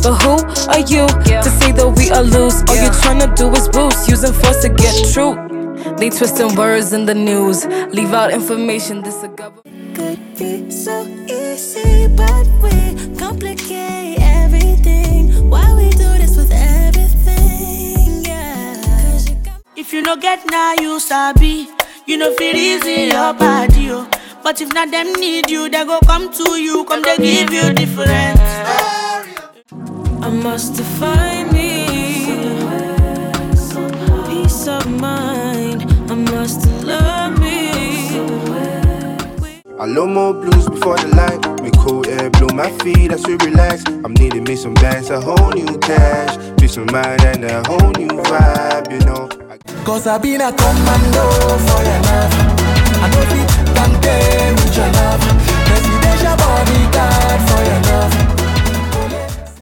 But who are you to say that we are loose? All you're trying to do is boost, using force to get true. They twisting words in the news, leave out information. This a government. Could be so easy, but we complicate everything. Why we do this with everything? Yeah. If you no get now, you sabi. You know feel easy your body, oh. But if not them need you, they go come to you, come they give you different. I must define me peace of mind. I must love me. I love more blues before the light. Make cold air blow my feet, I should relax. I'm needing me some bands, a whole new cash, peace of mind and a whole new vibe, you know. Cause I been a commando for your love. I know it can with your love. Presidential bodyguard for your love.